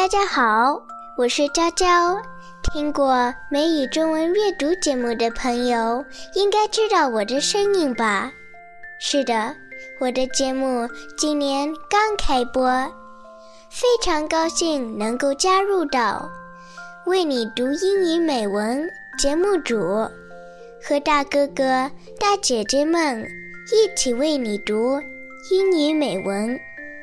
大家好，我是娇娇。听过美语中文阅读节目的朋友应该知道我的声音吧？是的，我的节目今年刚开播，非常高兴能够加入到为你读英语美文节目组，和大哥哥大姐姐们一起为你读英语美文。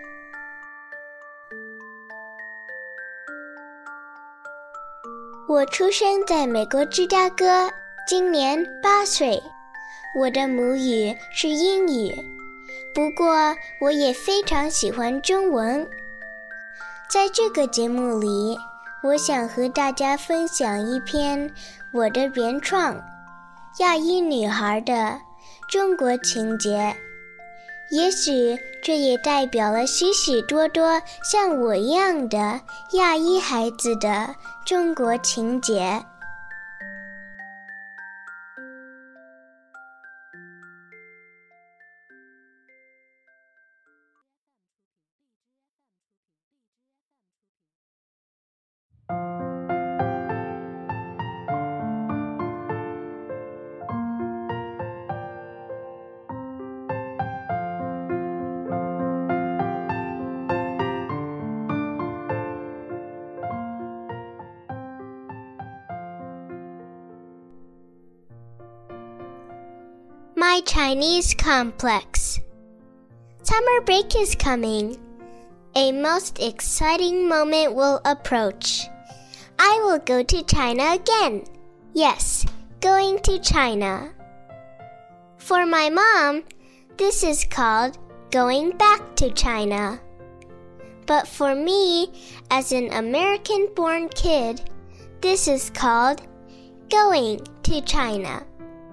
我出生在美国芝加哥，今年8岁。我的母语是英语，不过我也非常喜欢中文。在这个节目里，我想和大家分享一篇我的原创亚裔女孩的中国情节，也许这也代表了许许多多像我一样的亚裔孩子的中国情节。My Chinese complex. Summer break is coming. A most exciting moment will approach. I will go to China again. Yes, going to China. For my mom, this is called going back to China. But for me, as an American-born kid, this is called going to China.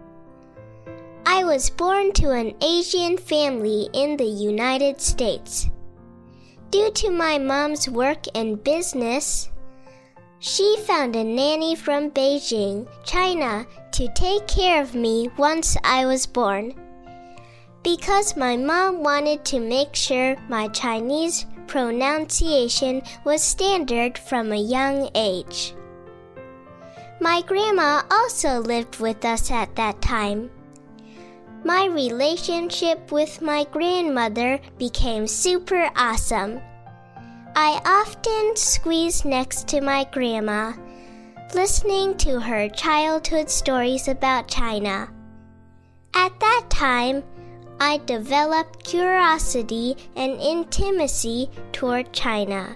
I was born to an Asian family in the United States. Due to my mom's work and business, she found a nanny from Beijing, China, to take care of me once I was born. Because my mom wanted to make sure my Chinese pronunciation was standard from a young age. My grandma also lived with us at that time. My relationship with my grandmother became super awesome. I often squeezed next to my grandma, listening to her childhood stories about China. At that time, I developed curiosity and intimacy toward China.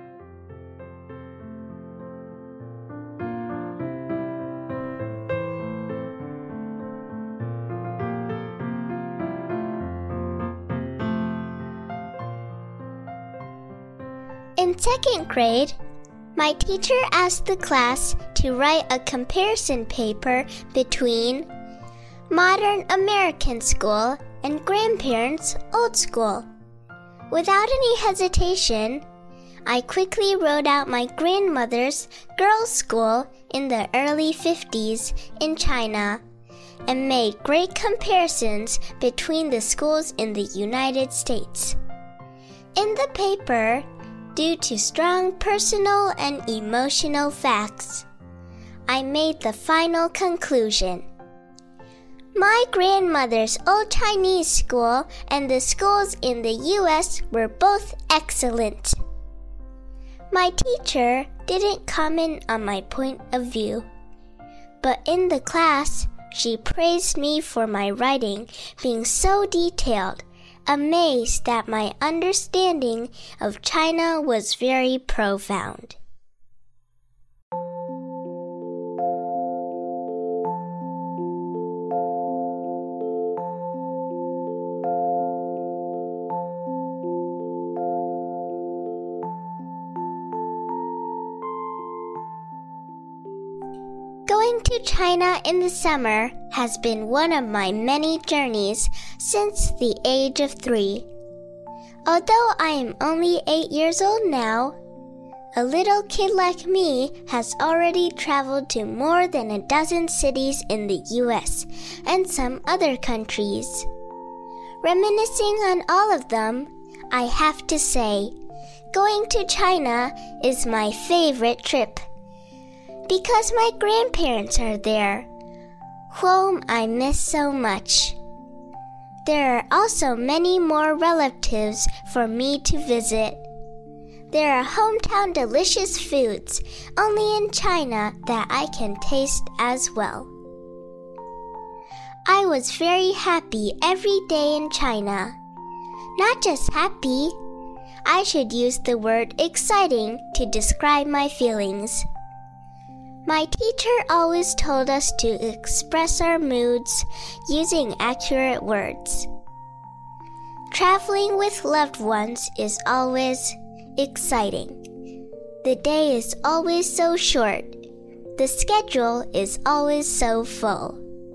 In second grade, my teacher asked the class to write a comparison paper between modern American school and grandparents' old school. Without any hesitation, I quickly wrote out my grandmother's girls' school in the early 50s in China and made great comparisons between the schools in the United States. In the paper, due to strong personal and emotional facts, I made the final conclusion. My grandmother's old Chinese school and the schools in the U.S. were both excellent. My teacher didn't comment on my point of view, but in the class, she praised me for my writing being so detailed, amazed that my understanding of China was very profound. Going to China in the summer has been one of my many journeys since the age of 3. Although I am only 8 years old now, a little kid like me has already traveled to more than a dozen cities in the U.S. and some other countries. Reminiscing on all of them, I have to say, Going to China is my favorite trip because my grandparents are there, whom I miss so much. There are also many more relatives for me to visit. There are hometown delicious foods only in China that I can taste as well. I was very happy every day in China. Not just happy. I should use the word exciting to describe my feelings. My teacher always told us to express our moods using accurate words. Traveling with loved ones is always exciting. The day is always so short. The schedule is always so full.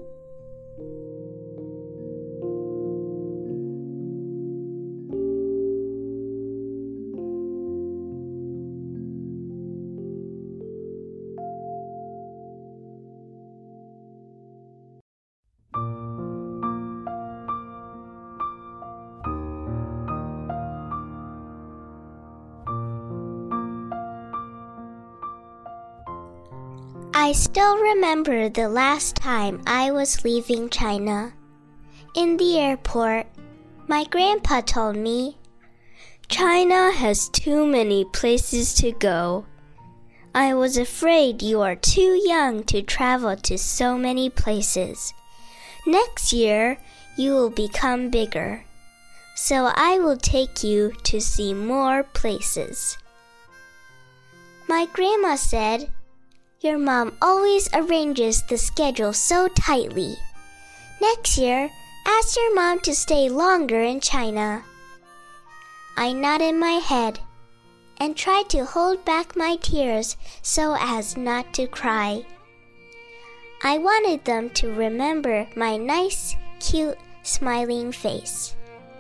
I still remember the last time I was leaving China. In the airport, my grandpa told me, "China has too many places to go. I was afraid you are too young to travel to so many places. Next year, you will become bigger. So I will take you to see more places." My grandma said, "Your mom always arranges the schedule so tightly. Next year, ask your mom to stay longer in China." I nodded my head and tried to hold back my tears so as not to cry. I wanted them to remember my nice, cute, smiling face.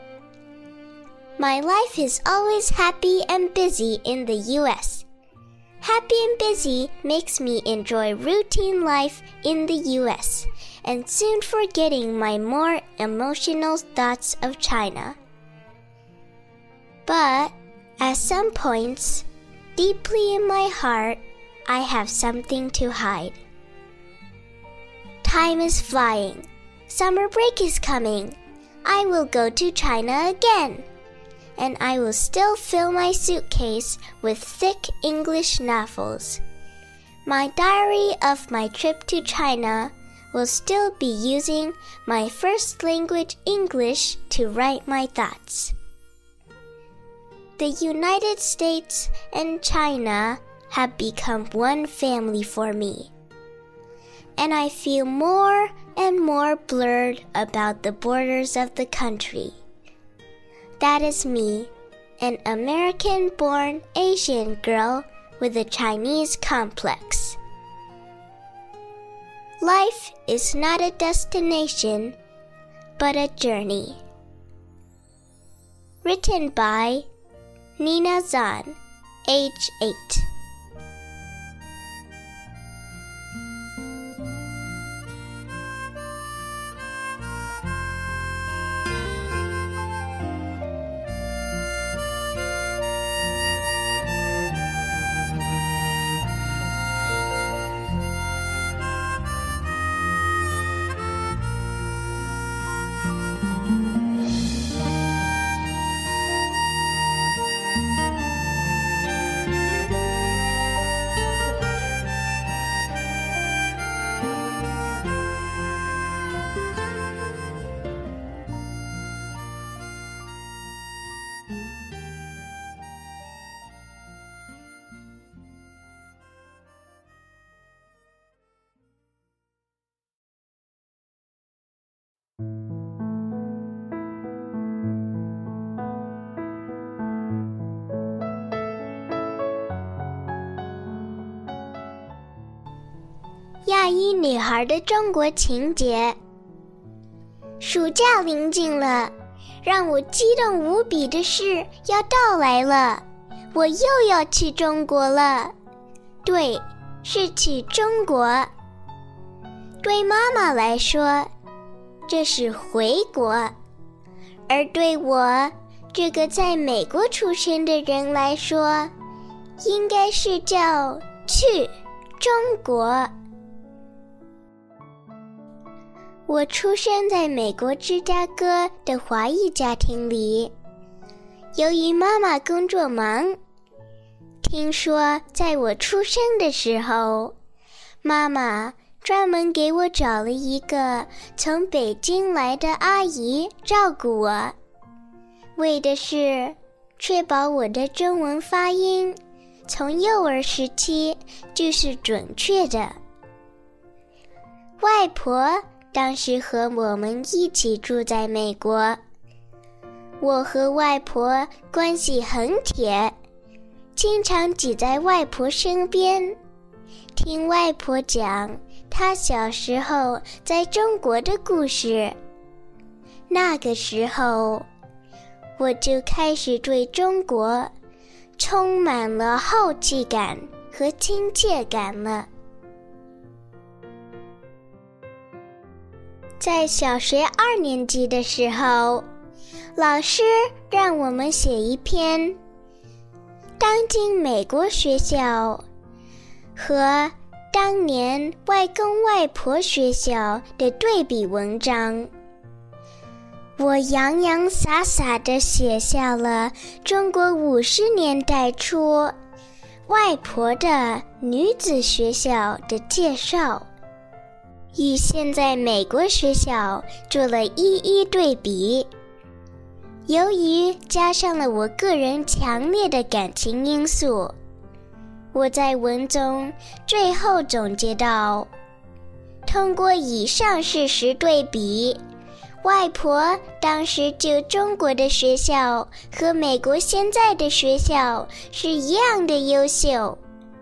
My life is always happy and busy in the U.S. Happy and busy makes me enjoy routine life in the U.S. and soon forgetting my more emotional thoughts of China. But at some points, deeply in my heart, I have something to hide. Time is flying. Summer break is coming. I will go to China again. And I will still fill my suitcase with thick English novels. My diary of my trip to China will still be using my first language English to write my thoughts. The United States and China have become one family for me. And I feel more and more blurred about the borders of the country. That is me, an American-born Asian girl with a Chinese complex. Life is not a destination, but a journey. Written by Nina Zan, age 8.亚裔女孩的中国情节。暑假临近了，让我激动无比的事要到来了，我又要去中国了。对，是去中国。对妈妈来说，这是回国，而对我， 这个在美国出生的人来说，应该是叫去中国。我出生在美国芝加哥的华裔家庭里，由于妈妈工作忙，听说在我出生的时候，妈妈专门给我找了一个从北京来的阿姨照顾我，为的是确保我的中文发音从幼儿时期就是准确的。外婆当时和我们一起住在美国，我和外婆关系很铁，经常挤在外婆身边，听外婆讲她小时候在中国的故事。那个时候，我就开始对中国充满了好奇感和亲切感了。在小学2年级的时候，老师让我们写一篇当今美国学校和当年外公外婆学校的对比文章。我洋洋洒洒地写下了中国50年代初外婆的女子学校的介绍，与现在美国学校做了一一对比。由于加上了我个人强烈的感情因素，我在文中最后总结到，通过以上事实对比，外婆当时就中国的学校和美国现在的学校是一样的优秀。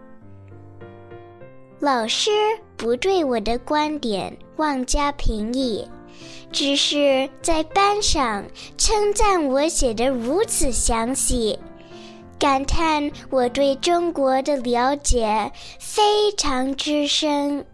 老师不对我的观点妄加评议，只是在班上称赞我写得如此详细，感叹我对中国的了解非常之深。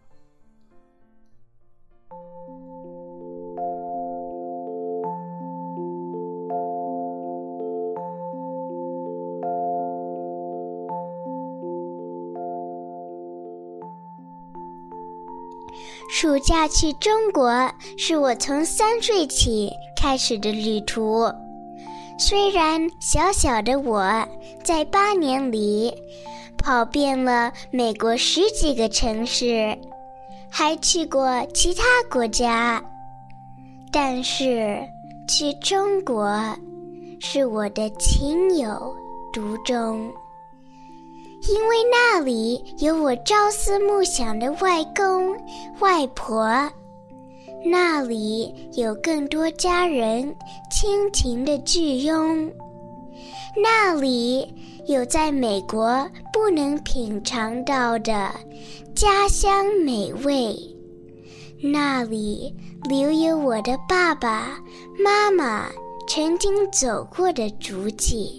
暑假去中国是我从3岁起开始的旅途。虽然小小的我在8年里跑遍了美国10几个城市，还去过其他国家，但是去中国是我的情有独钟。因为那里有我朝思暮想的外公外婆，那里有更多家人亲情的聚拥，那里有在美国不能品尝到的家乡美味，那里留有我的爸爸妈妈曾经走过的足迹。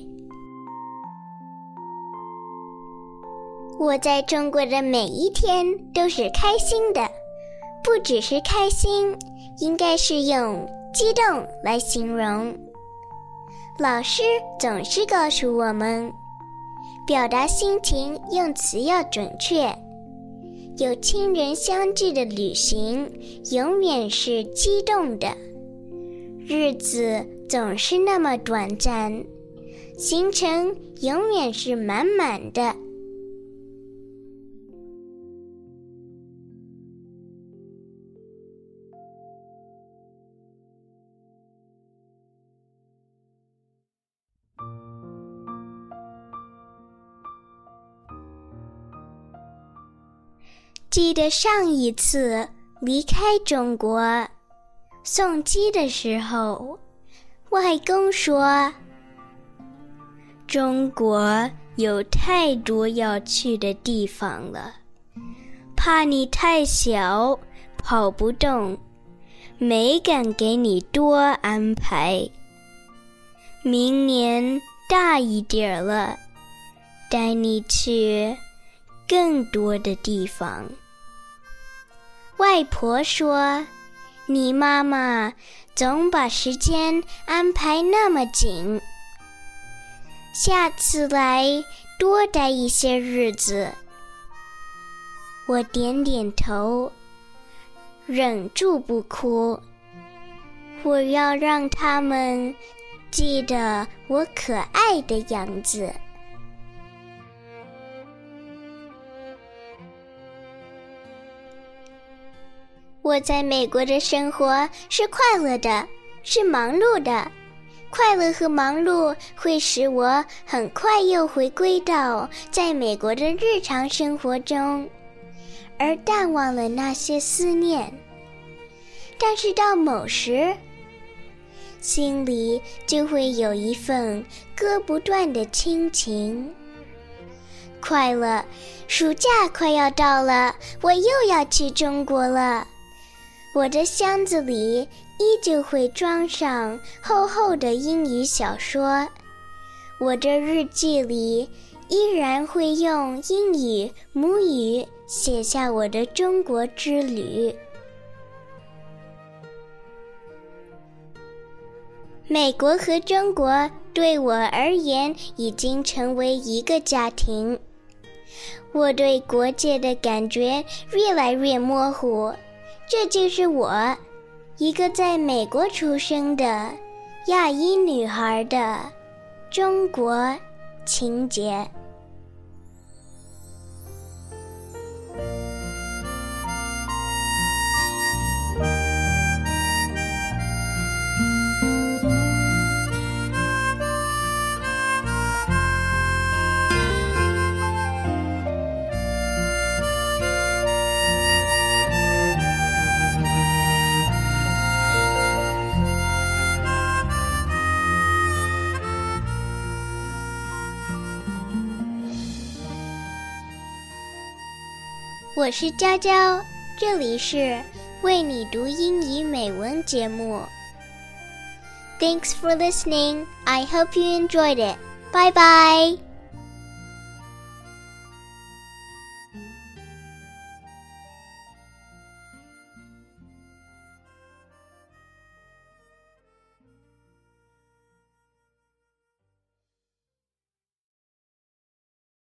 我在中国的每一天都是开心的，不只是开心，应该是用激动来形容。老师总是告诉我们，表达心情用词要准确，有亲人相聚的旅行永远是激动的，日子总是那么短暂，行程永远是满满的。记得上一次离开中国送机的时候，外公说，中国有太多要去的地方了，怕你太小跑不动，没敢给你多安排。明年大一点了，带你去更多的地方。外婆说， 你妈妈总把时间安排那么紧，下次来多待一些日子。我点点头，忍住不哭。我要让他们记得我可爱的样子。我在美国的生活是快乐的，是忙碌的。快乐和忙碌会使我很快又回归到在美国的日常生活中，而淡忘了那些思念。但是到某时，心里就会有一份割不断的亲情。快乐，暑假快要到了，我又要去中国了。我的箱子里依旧会装上厚厚的英语小说，我的日记里依然会用英语母语写下我的中国之旅。美国和中国对我而言已经成为一个家庭，我对国界的感觉越来越模糊。这就是我，一个在美国出生的亚裔女孩的中国情节。我是娇娇，这里是为你读英语美文节目。Thanks for listening. I hope you enjoyed it. Bye bye.